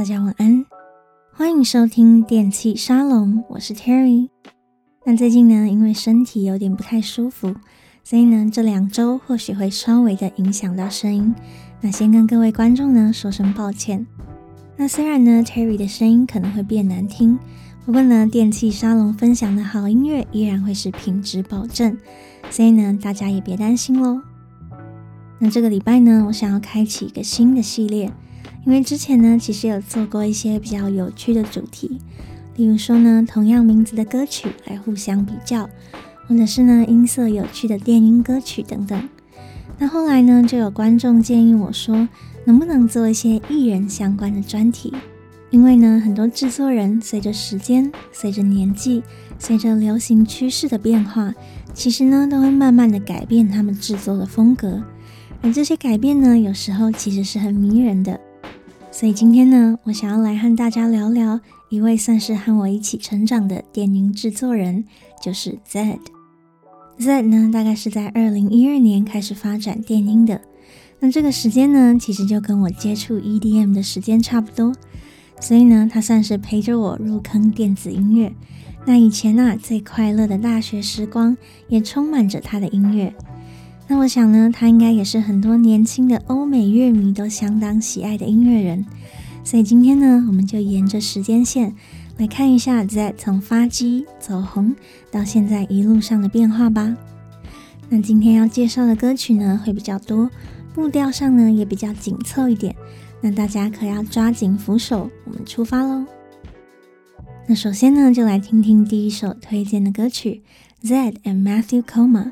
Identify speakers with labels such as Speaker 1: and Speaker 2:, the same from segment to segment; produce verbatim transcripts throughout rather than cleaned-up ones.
Speaker 1: 大家晚安，歡迎收聽電器沙龍，我是 Terry。那最近呢，因為身體有點不太舒服，所以呢，這兩週或許會稍微的影響到聲音。那先跟各位觀眾呢說聲抱歉。那雖然呢 Terry 的聲音可能會變難聽，不過呢，電器沙龍分享的好音樂依然會是品質保證，所以呢，大家也別擔心咯。那這個禮拜呢，我想要開啟一個新的系列，因為之前呢，其實有做過一些比較有趣的主題，例如說呢，同樣名字的歌曲來互相比較，或者是呢，音色有趣的電音歌曲等等。那後來呢，就有觀眾建議我說，能不能做一些藝人相關的專題？因為呢，很多製作人隨着時間、隨着年紀、隨着流行趨勢的變化，其實呢，都會慢慢的改變他們製作的風格。而這些改變呢，有時候其實是很迷人的。所以今天呢，我想要來和大家聊聊一位算是和我一起成長的電音製作人，就是 Zedd。Zedd 呢，大概是在二零一二年開始發展電音的。那這個時間呢，其實就跟我接觸 E D M 的時間差不多。所以呢，他算是陪着我入坑電子音樂。那以前啊，最快樂的大學時光，也充滿着他的音樂。那我想呢，他應該也是很多年輕的歐美樂迷都相當喜愛的音樂人。所以今天呢，我們就沿着時間線來看一下 Zedd 從發跡走紅到現在一路上的變化吧。那今天要介紹的歌曲呢，會比較多，步調上呢也比較緊湊一點。那大家可要抓緊扶手，我們出發咯。那首先呢，就來聽聽第一首推薦的歌曲 Zedd and Matthew Koma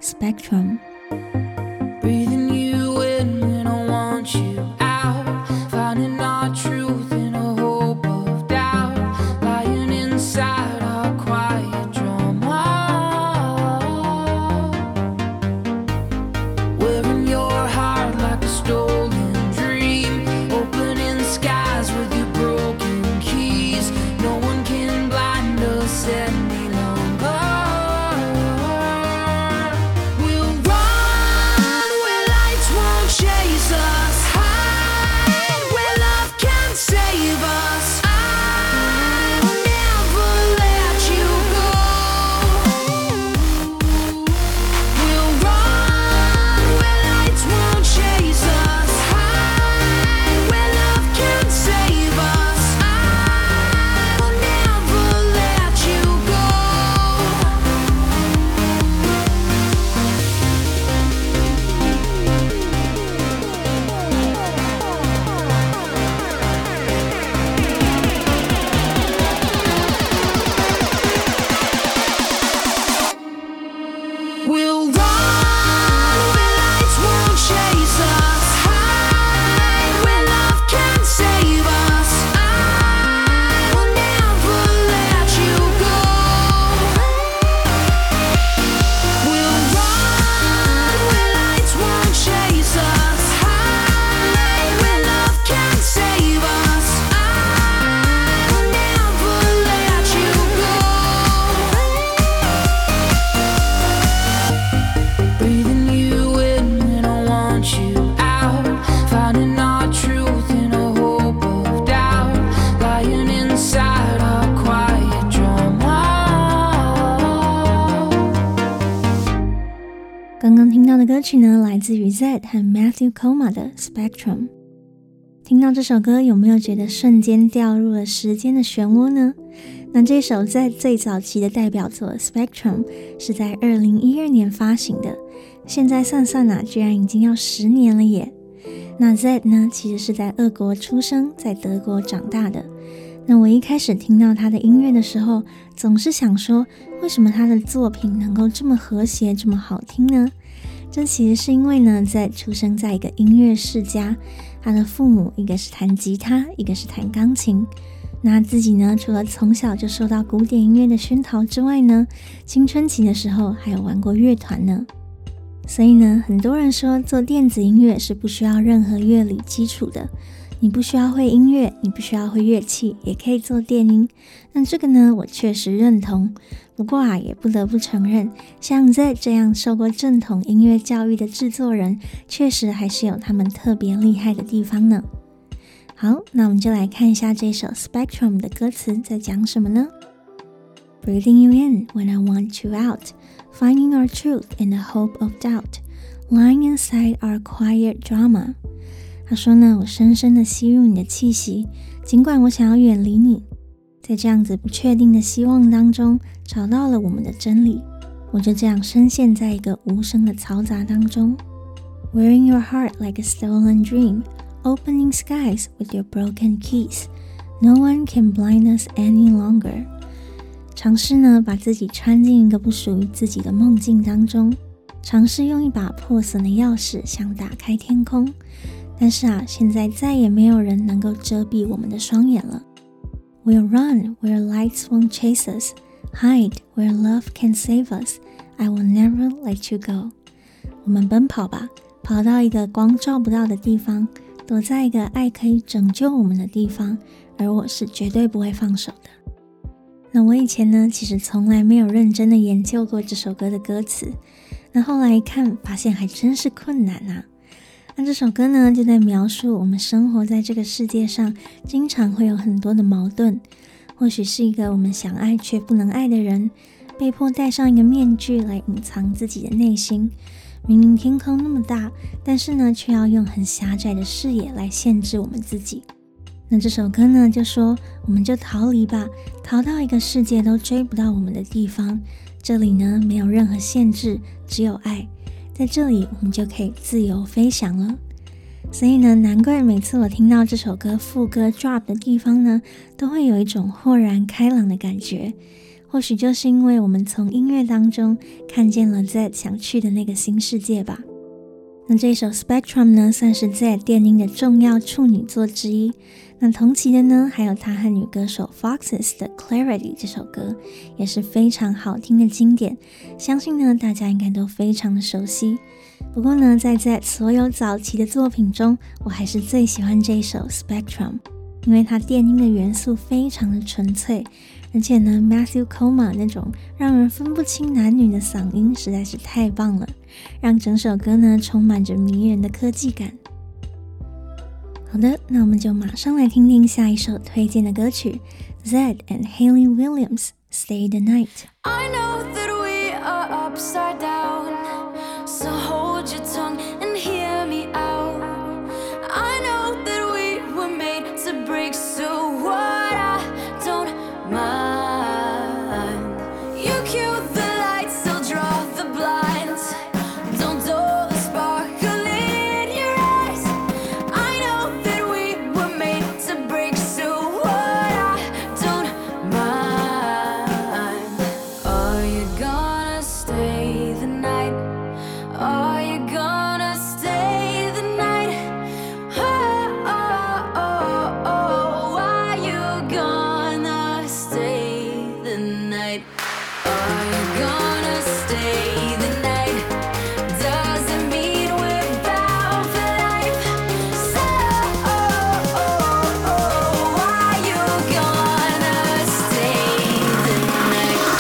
Speaker 1: Spectrum。Breathing you in when I want you out, finding our truth in a hope of doubt, lying inside our quiet drama, wearing your heart like a stolen dream, opening skies with your broken keys, no one can blind us any longer. Chase us, hide where love can save us. I will never let you go. We'll run where lights won't chase us, hide where love can save us. I will never let you go. We'll run where lights won't chase us, hide where love can save us. I will never let you go. We'll run where lights won't chase us, hide where love can save us. I will never let you go. Breathing you in when I want you out, finding our truth in a hope of doubt, lying inside our quiet drama。 剛剛聽到的歌曲呢，來自於 Zedd 和 Matthew Koma 的 Spectrum。 聽到這首歌，有沒有覺得瞬間掉入了時間的漩渦呢？那這首 Zedd 最早期的代表作 Spectrum 是在二零一二年發行的，現在算算啊，居然已經要十年了耶。那 Zedd 呢，其實是在俄國出生，在德國長大的。那我一開始聽到他的音樂的時候，總是想說，為什麼他的作品能夠這麼和諧，這麼好聽呢？這其實是因為呢，Zedd出生在一個音樂世家，他的父母一個是彈吉他，一個是彈鋼琴。那自己呢，除了從小就受到古典音樂的熏陶之外呢，青春期的時候還有玩過樂團呢。所以呢，很多人說做電子音樂是不需要任何樂理基礎的，你不需要會音樂，你不需要會樂器，也可以做電音。那這個呢，我確實認同。不過啊，也不得不承認，像 Zedd 這樣受過正統音樂教育的製作人，確實還是有他們特別厲害的地方呢。 好，那我們就來看一下這首 Spectrum 的歌詞在講什麼呢？ Breathing you in when I want you out, finding our truth in the hope of doubt, lying inside our quiet drama。 他說呢，我深深的吸入你的氣息，儘管我想要遠離你，在這樣子不確定的希望當中，找到了我們的真理。我就這樣深陷在一個無聲的嘈雜當中。 Wearing your heart like a stolen dream, opening skies with your broken keys, no one can blind us any longer。 嘗試呢，把自己穿進一個不屬於自己的夢境當中，嘗試用一把破損的鑰匙想打開天空，但是啊，現在再也沒有人能夠遮蔽我們的雙眼了。 We'll run where lights won't chase us, hide where love can save us, I will never let you go。 我們奔跑吧，跑到一個光照不到的地方，躲在一個愛可以拯救我們的地方，而我是絕對不會放手的。那我以前呢，其實從來沒有認真的研究過這首歌的歌詞，那後來一看，發現還真是困難啊。那這首歌呢，就在描述我們生活在這個世界上，經常會有很多的矛盾。或許是一個我們想愛卻不能愛的人，被迫戴上一個面具來隱藏自己的內心。明明天空那麼大，但是呢，卻要用很狹窄的視野來限制我們自己。那這首歌呢，就說我們就逃離吧，逃到一個世界都追不到我們的地方。這裡呢，沒有任何限制，只有愛。在這裡，我們就可以自由飛翔了。所以呢，難怪每次我聽到這首歌副歌 drop 的地方呢，都會有一種豁然開朗的感覺。或許就是因為我們從音樂當中看見了 Zedd 想去的那個新世界吧。那這首 Spectrum 呢，算是 Zedd 電音的重要處女作之一。那同期的呢，還有他和女歌手 Foxes 的 Clarity 這首歌，也是非常好聽的經典，相信呢大家應該都非常的熟悉。不過呢，在 Zedd 所有早期的作品中，我還是最喜歡這一首 Spectrum， 因為它電音的元素非常的純粹，而且呢 Matthew Koma 那種讓人分不清男女的嗓音實在是太棒了，讓整首歌呢充滿着迷人的科技感。好的，那我們就馬上來聽聽下一首推薦的歌曲 Zedd and Hayley Williams Stay the Night。
Speaker 2: I know that we are upside down, so hold your tongue and hear me out. I know that we were made to break, so what, I don't mind. You cue the lights, I'll draw the blinds. Don't dull the sparkle in your eyes. I know that we were made to break, so what, I don't mind. Are you gonna stay the night? Are you gonna stay the night? Oh, oh, oh, oh. Are you gonna stay the night? Are you gonna stay the night? Doesn't mean we're bound for life. So, oh, oh, oh. Are you gonna stay the night?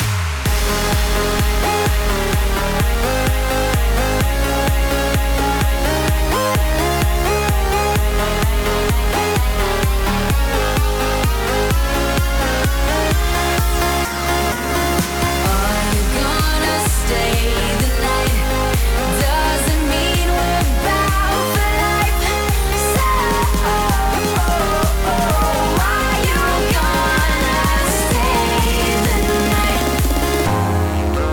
Speaker 2: Are you gonna stay the night? Doesn't mean we're bound for life. So, oh, oh, oh. Are you gonna stay the night?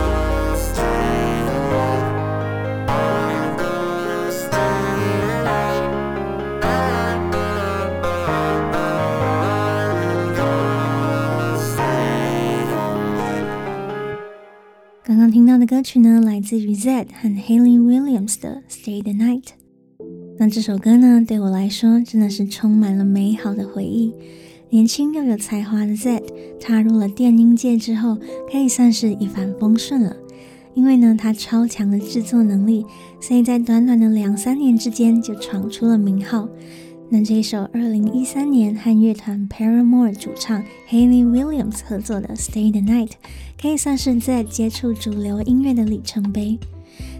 Speaker 2: Stay
Speaker 1: 刚刚聽到的歌曲呢，來自於 Zedd 和 Hayley Williams 的 Stay the Night。 那這首歌呢，對我來說真的是充滿了美好的回憶。年輕又有才華的 Zedd 踏入了電音界之後，可以算是一帆風順了。因為呢，他超強的製作能力，所以在短短的兩三年之間就闖出了名號。那這一首二零一三年和樂團 Paramore 主唱 Hayley Williams 合作的 Stay the Night， 可以算是在接觸主流音樂的里程碑。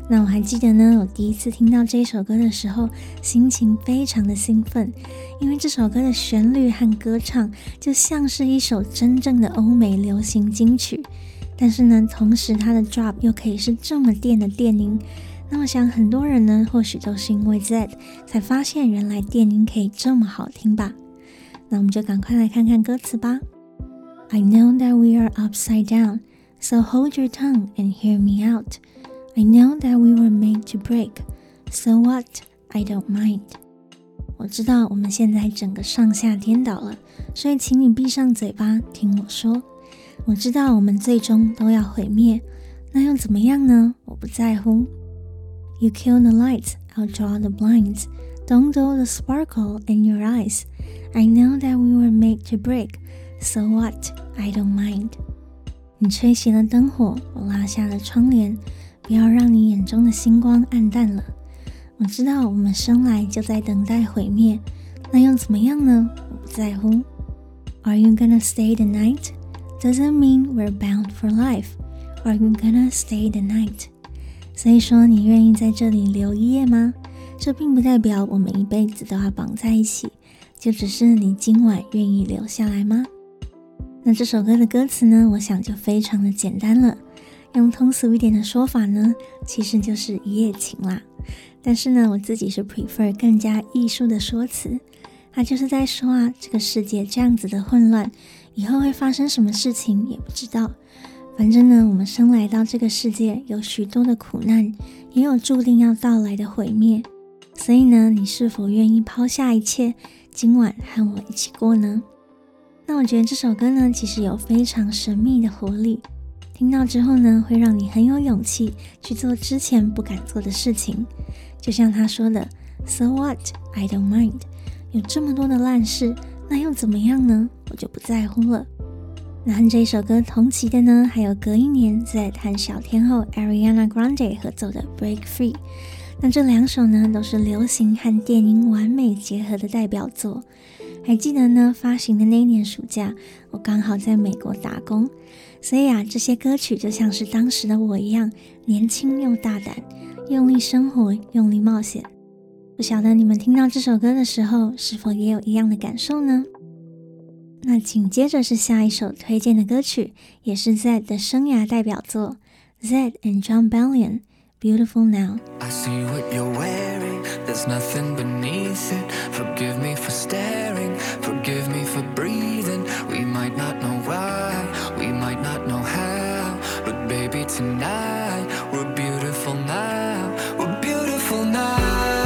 Speaker 1: 那我還記得呢，我第一次聽到這一首歌的時候，心情非常的興奮，因為這首歌的旋律和歌唱就像是一首真正的歐美流行金曲。但是呢，同時它的 drop 又可以是這麼電的電音。那我想很多人呢，或許都是因為 Zedd 才發現原來電音可以這麼好聽吧。那我們就趕快來看看歌詞吧。I know that we are upside down, so hold your tongue and hear me out. I know that we were made to break, so what? I don't mind. 我知道我們現在整個上下顛倒了，所以請你閉上嘴巴聽我說。我知道我們最終都要毀滅，那又怎麼樣呢？我不在乎。You kill the lights, I'll draw the blinds. Don't dull the sparkle in your eyes. I know that we were made to break, so what? I don't mind. 你吹熄了燈火，我拉下了窗簾，不要讓你眼中的星光暗淡了。我知道我們生來就在等待毀滅，那又怎麼樣呢？我不在乎。Are you gonna stay the night? Doesn't mean we're bound for life. Are you gonna stay the night? 所以說你願意在這裡留一夜嗎？這並不代表我們一輩子都要綁在一起，就只是你今晚願意留下來嗎？那這首歌的歌詞呢，我想就非常的簡單了。用通俗一點的說法呢，其實就是一夜情啦。但是呢，我自己是 prefer 更加藝術的說辭。它就是在說啊，這個世界這樣子的混亂，以後會發生什麼事情也不知道。反正呢，我們生來到這個世界，有許多的苦難，也有注定要到來的毀滅。所以呢，你是否願意拋下一切，今晚和我一起過呢？那我覺得這首歌呢，其實有非常神秘的活力。聽到之後呢，會讓你很有勇氣去做之前不敢做的事情。就像他說的 So what? I don't mind. 有這麼多的爛事，那又怎麼樣呢？我就不在乎了。那和這首歌同期的呢，還有隔一年 Zedd 和小天后 Ariana Grande 合奏的 Break Free。那這兩首呢，都是流行和電音完美結合的代表作。還記得呢，發行的那一年暑假，我剛好在美國打工，所以啊，這些歌曲就像是當時的我一樣，年輕又大膽，用力生活，用力冒險。不曉得你們聽到這首歌的時候，是否也有一樣的感受呢？那緊接着是下一首推薦的歌曲，也是 Zedd 的生涯代表作 Zedd and Jon Bellion Beautiful Now.
Speaker 3: I see what you're wearing, there's nothing beneath it. Forgive me for staring, forgive me for breathing. We might not know why, we might not know how, but baby tonight, we're beautiful now, we're beautiful now,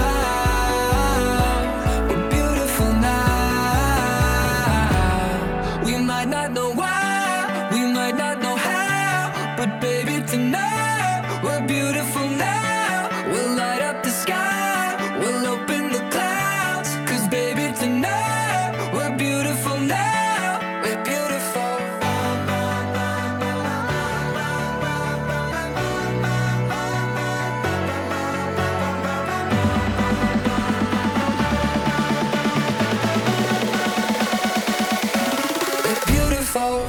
Speaker 3: we're beautiful now. We might not know why, we might not know how, but baby tonight, we're beautiful now. We'll light up the sky, we'll open the clouds, 'cause baby tonight, we're beautiful now, we're beautiful. We're beautiful.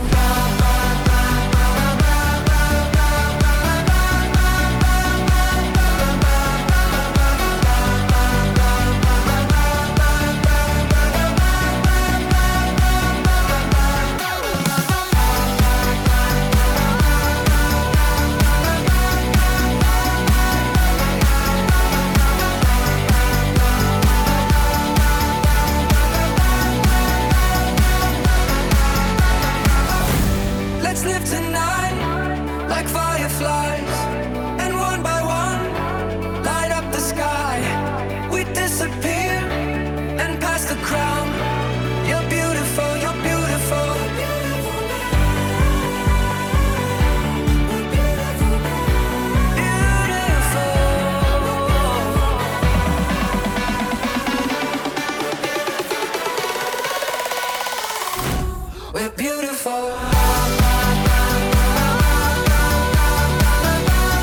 Speaker 3: Let's live tonight like fireflies, and one by one light up the sky. We disappear and pass the crown. You're beautiful, you're beautiful. Beautiful. We're beautiful.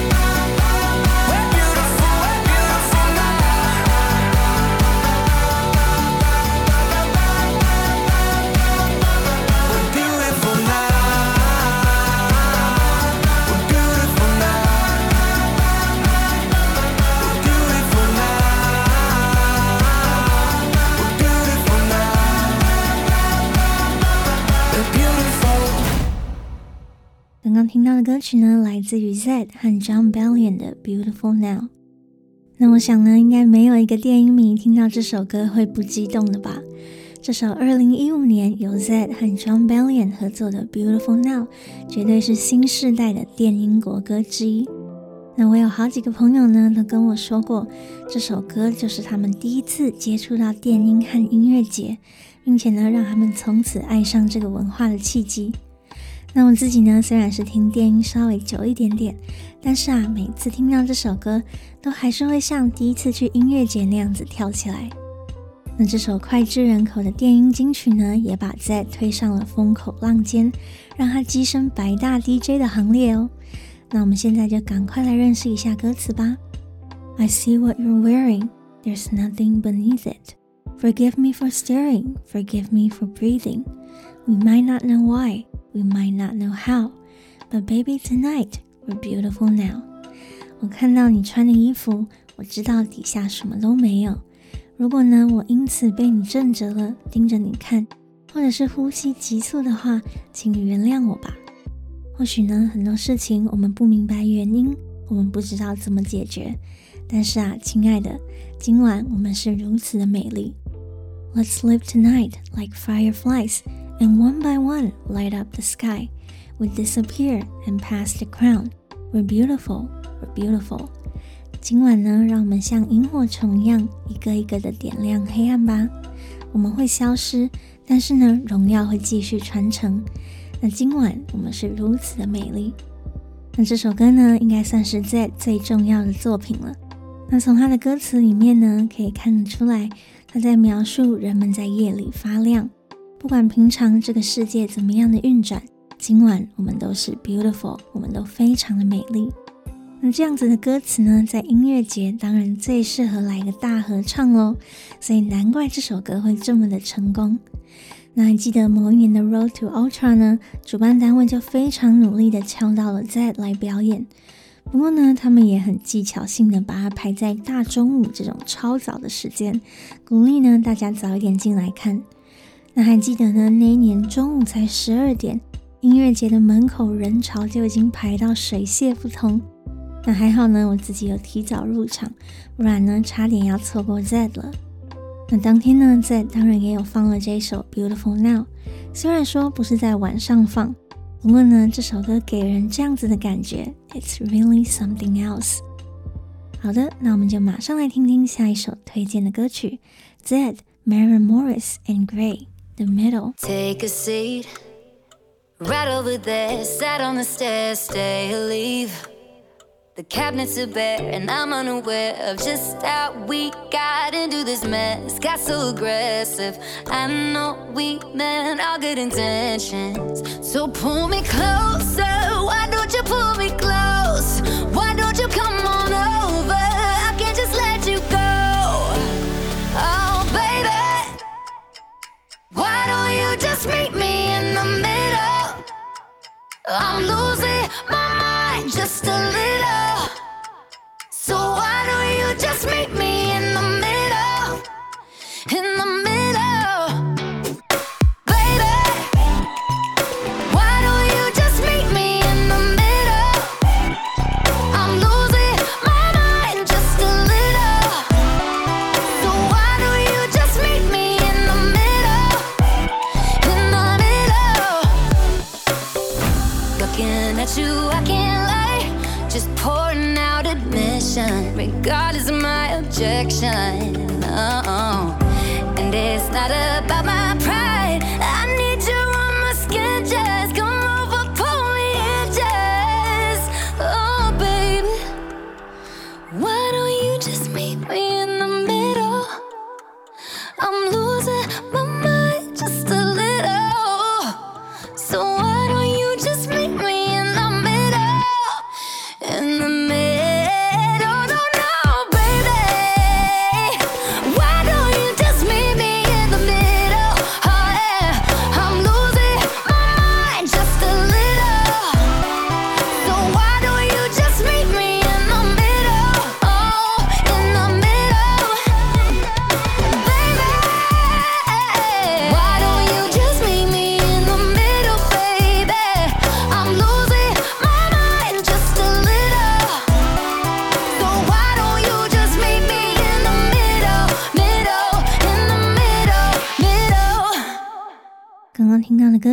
Speaker 1: 剛剛聽到的歌曲呢，來自於 Zedd 和 Jon Bellion 的 Beautiful Now。那我想呢，應該沒有一個電音迷聽到這首歌會不激動的吧？這首二零一五年由 Zedd 和 Jon Bellion 合作的 Beautiful Now 絕對是新世代的電音國歌之一。那我有好幾個朋友呢都跟我說過，這首歌就是他們第一次接觸到電音和音樂節，並且呢讓他們從此愛上這個文化的契機。那我自己呢，雖然是聽電音稍微久一點點，但是啊，每次聽到這首歌，都還是會像第一次去音樂節那樣子跳起來。那這首膾炙人口的電音金曲呢，也把 Zedd 推上了風口浪尖，讓他躋身百大 D J 的行列哦。那我們現在就趕快來認識一下歌詞吧。I see what you're wearing, there's nothing beneath it. Forgive me for staring, forgive me for breathing. We might not know why.We might not know how, but baby tonight, we're beautiful now. 我看到你穿的衣服，我知道底下什麼都沒有。如果呢，我因此被你震懾了，盯着你看，或者是呼吸急促的話，請你原諒我吧。或許呢，很多事情我們不明白原因，我們不知道怎麼解決。但是啊，親愛的，今晚我們是如此的美麗。Let's live tonight like fireflies.And one by one, light up the sky. We disappear and pass the crown. We're beautiful, we're beautiful. 今晚呢，讓我們像螢火蟲一樣，一個一個的點亮黑暗吧。我們會消失，但是呢，榮耀會繼續傳承。那今晚我們是如此的美麗。那這首歌呢，應該算是 Zedd 最重要的作品了。那從他的歌詞裡面呢，可以看得出來，他在描述人們在夜裡發亮。不管平常這個世界怎麼樣的運轉，今晚我們都是 beautiful， 我們都非常的美麗。那這樣子的歌詞呢，在音樂節當然最適合來個大合唱咯，所以難怪這首歌會這麼的成功。那還記得某一年的 Road to Ultra 呢，主辦單位就非常努力的敲到了 Zedd 來表演。不過呢，他們也很技巧性的把它排在大中午這種超早的時間，鼓勵呢大家早一點進來看。那還記得呢，那一年中午才十二點，音樂節的門口人潮就已經排到水泄不通。那還好呢，我自己有提早入場，不然呢差點要錯過 Zedd 了。那當天呢 Zedd 當然也有放了這一首 Beautiful Now， 雖然說不是在晚上放，不過呢這首歌給人這樣子的感覺 It's really something else。 好的，那我們就馬上來聽聽下一首推薦的歌曲 Zedd, Maren Morris and Grey,The middle.
Speaker 2: Take a seat right over there. Sat on the stairs, stay or leave. The cabinets are bare, and I'm unaware of just how we got into this mess. Got so aggressive. I know we meant all good intentions. So pull me closer. Why don't you pull me close? Why don't you come on over? I can't just let you go. Oh, baby.Why don't you just meet me in the middle? I'm losing my mind just a little. So why don't you just meet me in the middle? In the middle. Baby, why don't you just meet me in the middle? I'm losing my mind just a little. So why don't you just meet me in the middle?In the middle, looking at you, I can't lie. Just pouring out admission, regardless of my objection. Oh, and it's not about my pride. I need you on my skin, just come over, pull me in, just. Oh, baby, why don't you just meet me in the middle? I'm losing my mind.Just a little. So why don't you just meet me in the middle? In the middle, no, no, baby. Why don't you just meet me in the middle?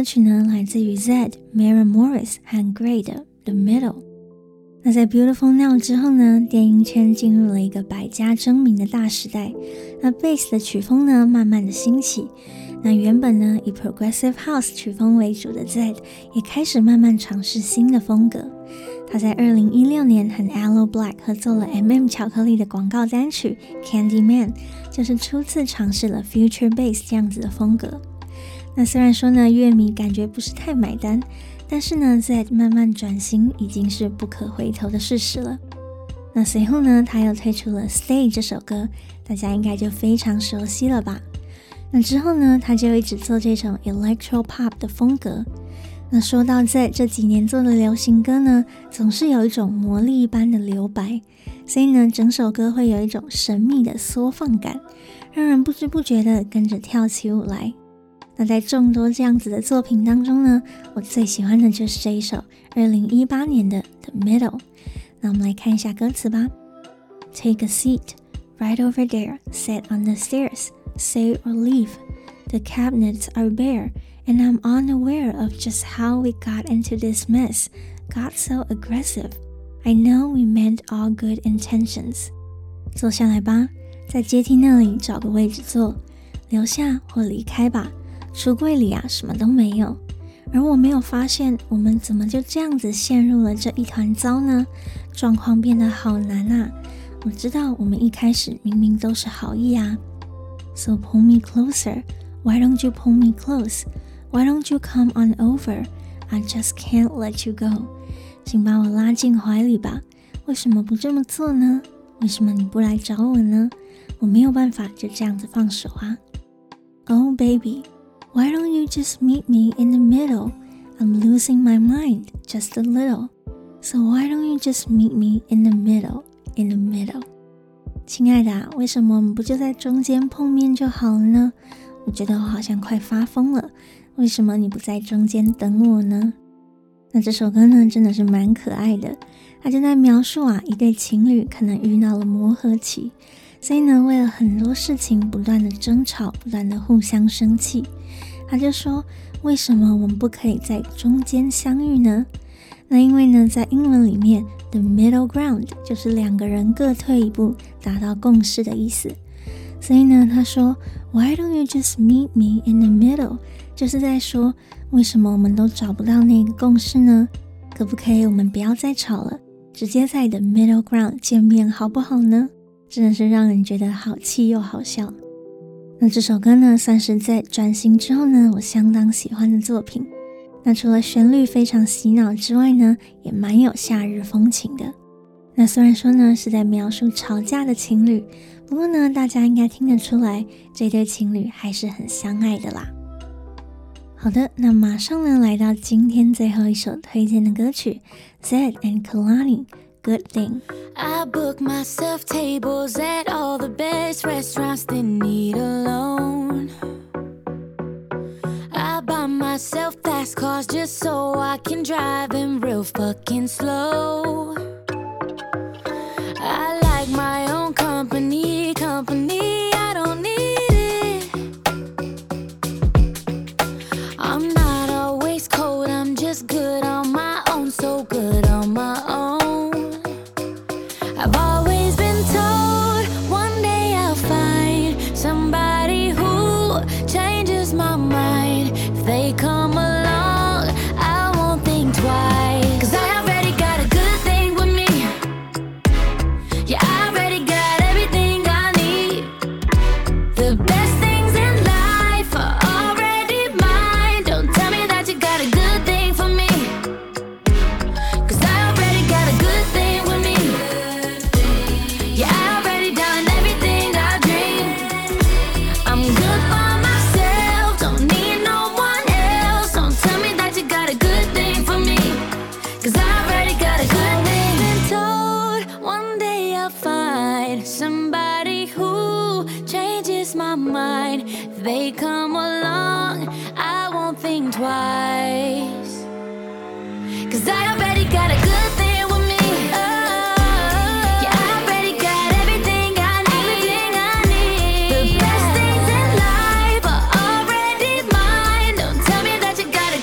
Speaker 1: 歌曲呢，來自於 Zedd、Maren Morris 和 Grey 的 The Middle。那在 Beautiful Now 之後呢，電音圈進入了一個百家爭鳴的大時代。那 Bass 的曲風呢，慢慢的興起。那原本呢，以 Progressive House 曲風為主的 Zedd 也開始慢慢嘗試新的風格。他在二零一六年和 Aloe Blacc 合作了 M and M 巧克力的廣告單曲 Candyman， 就是初次嘗試了 Future Bass 這樣子的風格。那雖然說呢，樂迷感覺不是太買單，但是呢 Zedd 慢慢轉型已經是不可回頭的事實了。那隨後呢，他又推出了 Stay 這首歌，大家應該就非常熟悉了吧。那之後呢，他就一直做這種 Electro Pop 的風格。那說到Zedd這幾年做的流行歌呢，總是有一種魔力一般的留白，所以呢，整首歌會有一種神秘的縮放感，讓人不知不覺的跟着跳起舞來。那在眾多這樣子的作品當中呢，我最喜歡的就是這一首二零一八年的 The Middle。那我們來看一下歌詞吧。Take a seat, right over there, sit on the stairs, stay or leave. The cabinets are bare, and I'm unaware of just how we got into this mess, got so aggressive. I know we meant all good intentions. 坐下來吧，在階梯那裡找個位置坐，留下或離開吧。櫥櫃裡啊，什麼都沒有。而我沒有發現，我們怎麼就這樣子陷入了這一團糟呢？狀況變得好難啊！我知道我們一開始明明都是好意啊。So pull me closer. Why don't you pull me close? Why don't you come on over? I just can't let you go. 請把我拉進懷裡吧。為什麼不這麼做呢？為什麼你不來找我呢？我沒有辦法就這樣子放手啊。Oh baby, why don't you just meet me in the middle? I'm losing my mind just a little. So why don't you just meet me in the middle, in the middle? 親愛的啊，為什麼我們不就在中間碰面就好了呢？我覺得我好像快發瘋了，為什麼你不在中間等我呢？那這首歌呢，真的是蠻可愛的。它就在描述啊，一對情侶可能遇到了磨合期，所以呢，為了很多事情不斷的爭吵，不斷的互相生氣。他就說，為什麼我們不可以在中間相遇呢？那因為呢，在英文裡面 The middle ground 就是兩個人各退一步，達到共識的意思。所以呢，他說 Why don't you just meet me in the middle？ 就是在說，為什麼我們都找不到那個共識呢？可不可以我們不要再吵了，直接在 The middle ground 見面好不好呢？真的是讓人覺得好氣又好笑。那這首歌呢，算是在轉型之後呢，我相當喜歡的作品。那除了旋律非常洗腦之外呢，也蠻有夏日風情的。那雖然說呢，是在描述吵架的情侶，不過呢，大家應該聽得出來，這對情侶還是很相愛的啦。好的，那馬上呢，來到今天最後一首推薦的歌曲 Zedd and Kehlani Good Thing.
Speaker 2: I book myself tables at all the best restaurants, didn't need a loan. I buy myself fast cars just so I can drive them real fucking slow. I like my own company, company, I don't need it. I'm not always cold, I'm just good on my own, so good on my own.I've always been told one day I'll find somebody who changes my mind. If they come along, I won't think twice. 'Cause I already got a good thing with me. Yeah, I already got everything I need. The best things in life are already mine. Don't tell me that you got a good thing for me. 'Cause I already got a good thing with me.Yeah, I already done everything I dream. I'm good by myself, don't need no one else. Don't tell me that you got a good thing for me. 'Cause I already got a good thing. Been told one day I'll find somebody who changes my mind. If they come along, I won't think twice. 'Cause I already got a good thing with me.Yeah,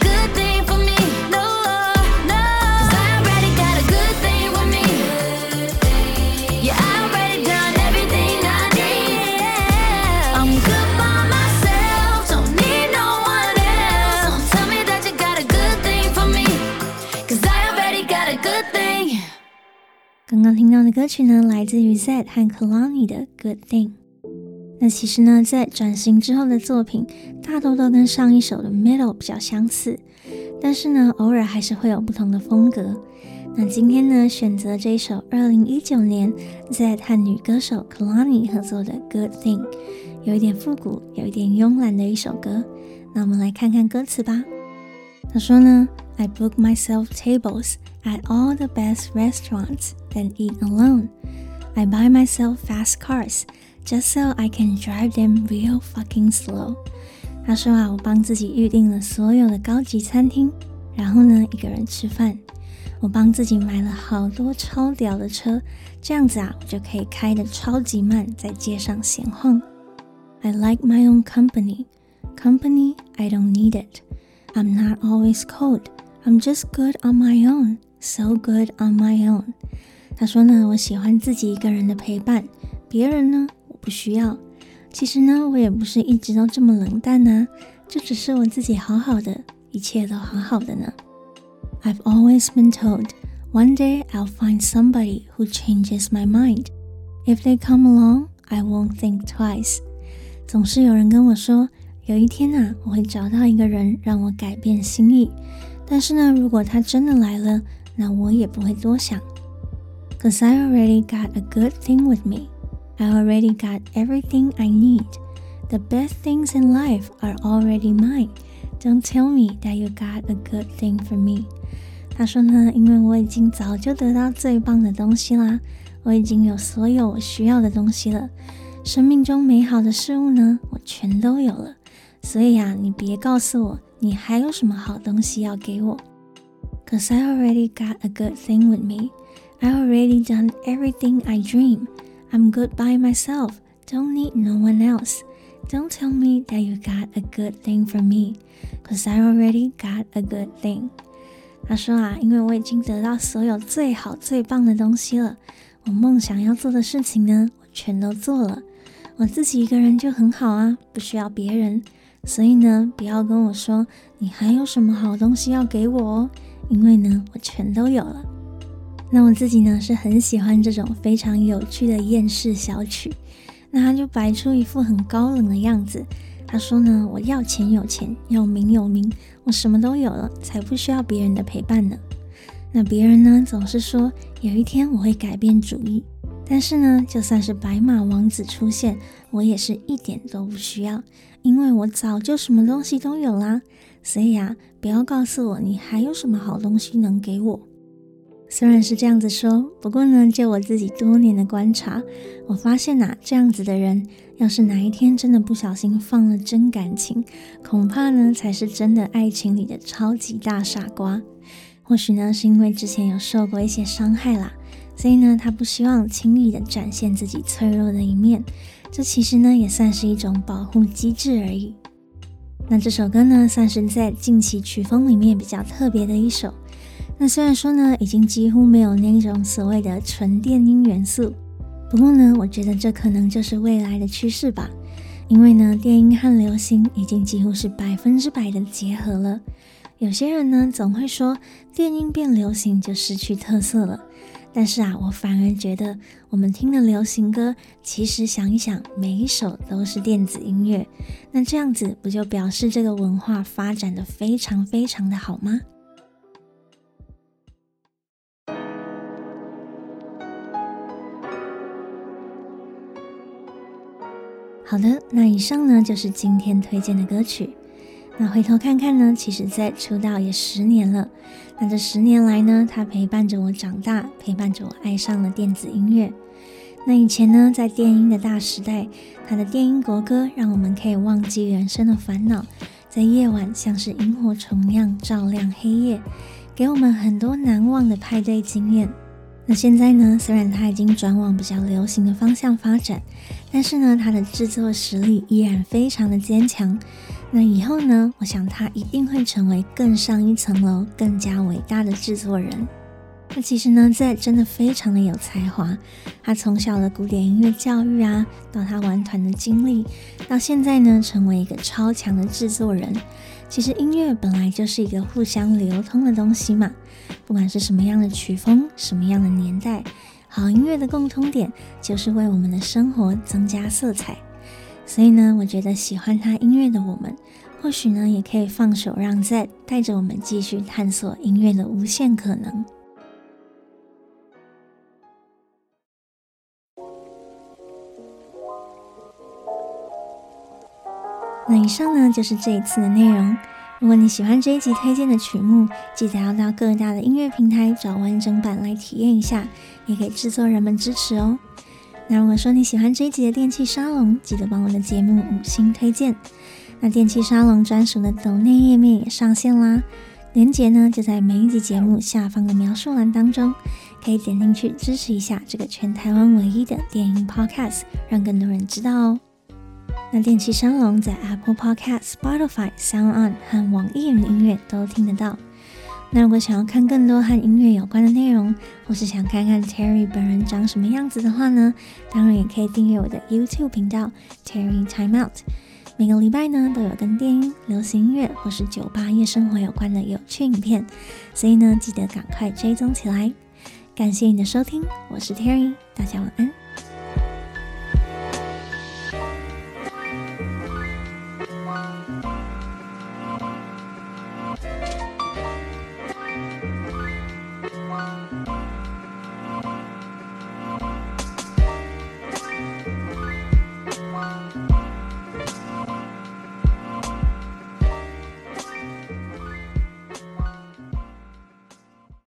Speaker 1: 剛剛聽到的歌曲呢，來自於 Zedd 和 Kehlani 的 Good Thing。那其實呢，在轉型之後的作品，大多都跟上一首的 Middle 比較相似，但是呢，偶爾還是會有不同的風格。那今天呢，選擇這一首二零一九年 Zedd 和女歌手 Kehlani 合作的 Good Thing， 有一點復古，有一點慵懶的一首歌。那我們來看看歌詞吧。他說呢 I book myself tables at all the best restaurants, then eat alone. I buy myself fast cars, just so I can drive them real fucking slow. 他說啊，我幫自己預定了所有的高級餐廳，然後呢，一個人吃飯。我幫自己買了好多超屌的車，這樣子啊，我就可以開得超級慢，在街上閒晃。I like my own company. Company, I don't need it. I'm not always cold. I'm just good on my own. So good on my own. 他說呢，我喜歡自己一個人的陪伴，別人呢，我不需要。其實呢，我也不是一直都這麼冷淡啊，就只是我自己好好的，一切都好好的呢。I've always been told, one day I'll find somebody who changes my mind. If they come along, I won't think twice. 總是有人跟我說，有一天啊，我會找到一個人讓我改變心意。但是呢，如果他真的來了，那我也不會多想。Cause I already got a good thing with me. I already got everything I need. The best things in life are already mine. Don't tell me that you got a good thing for me. 他說呢，因為我已經早就得到最棒的東西啦，我已經有所有我需要的東西了，生命中美好的事物呢，我全都有了。所以啊，你別告訴我，你還有什麼好東西要給我。Cause I already got a good thing with me. I already done everything I dream. I'm good by myself. Don't need no one else. Don't tell me that you got a good thing for me. Cause I already got a good thing. 他說啊，因為我已經得到所有最好最棒的東西了，我夢想要做的事情呢，我全都做了。我自己一個人就很好啊，不需要別人。所以呢，不要跟我說你還有什麼好東西要給我哦，因為呢，我全都有了。那我自己呢，是很喜歡這種非常有趣的厭世小曲。那他就擺出一副很高冷的樣子。他說呢，我要錢有錢，要名有名，我什麼都有了，才不需要別人的陪伴呢。那別人呢，總是說有一天我會改變主意，但是呢，就算是白馬王子出現，我也是一點都不需要，因為我早就什麼東西都有啦。所以啊，不要告訴我你還有什麼好東西能給我。雖然是這樣子說，不過呢，就我自己多年的觀察，我發現啊，這樣子的人，要是哪一天真的不小心放了真感情，恐怕呢，才是真的愛情裡的超級大傻瓜。或許呢，是因為之前有受過一些傷害啦，所以呢，他不希望輕易的展現自己脆弱的一面。這其實呢，也算是一種保護機制而已。那這首歌呢，算是在近期曲風裡面比較特別的一首。那雖然說呢，已經幾乎沒有那種所謂的純電音元素，不過呢，我覺得這可能就是未來的趨勢吧。因為呢，電音和流行已經幾乎是百分之百的結合了。有些人呢，總會說電音變流行就失去特色了。但是啊，我反而覺得我們聽的流行歌，其實想一想，每一首都是電子音樂。那這樣子不就表示這個文化發展得非常非常的好嗎？好的，那以上呢就是今天推薦的歌曲。那回頭看看呢，其實Zedd出道也十年了。那這十年來呢，他陪伴着我長大，陪伴着我愛上了電子音樂。那以前呢，在電音的大時代，他的電音國歌讓我們可以忘記人生的煩惱，在夜晚像是螢火蟲一樣照亮黑夜，給我們很多難忘的派對經驗。那現在呢，雖然他已經轉往比較流行的方向發展，但是呢，他的製作實力依然非常的堅強。那以後呢，我想他一定會成為更上一層樓、更加偉大的製作人。那其實呢，Zedd真的非常的有才華。他從小的古典音樂教育啊，到他玩團的經歷，到現在呢，成為一個超強的製作人。其實音樂本來就是一個互相流通的東西嘛，不管是什麼樣的曲風、什麼樣的年代， 好音樂的共通點就是為我們的生活增加色彩。所以呢，我覺得喜歡他音樂的我們，或許呢也可以放手讓 Zedd 帶着我們繼續探索音樂的無限可能。那以上呢就是這一次的內容。如果你喜歡這一集推薦的曲目，記得要到各大的音樂平台找完整版來體驗一下，也給製作人們支持哦。那如果說你喜歡這一集的電氣沙龍，記得幫我的節目五星推薦。那電氣沙龍專屬的抖內頁面也上線啦，連結呢就在每一集節目下方的描述欄當中，可以點進去支持一下這個全台灣唯一的電音 Podcast， 讓更多人知道哦。那電氣沙龍在 Apple Podcast、Spotify、SoundOn 和網易雲音樂都聽得到。那如果想要看更多和音樂有關的內容，或是想看看 Terry 本人長什麼樣子的話呢，當然也可以訂閱我的 YouTube 頻道 Terry Time Out。每個禮拜呢都有跟電音、流行音樂或是酒吧夜生活有關的有趣影片，所以呢記得趕快追蹤起來。感謝你的收聽，我是 Terry， 大家晚安。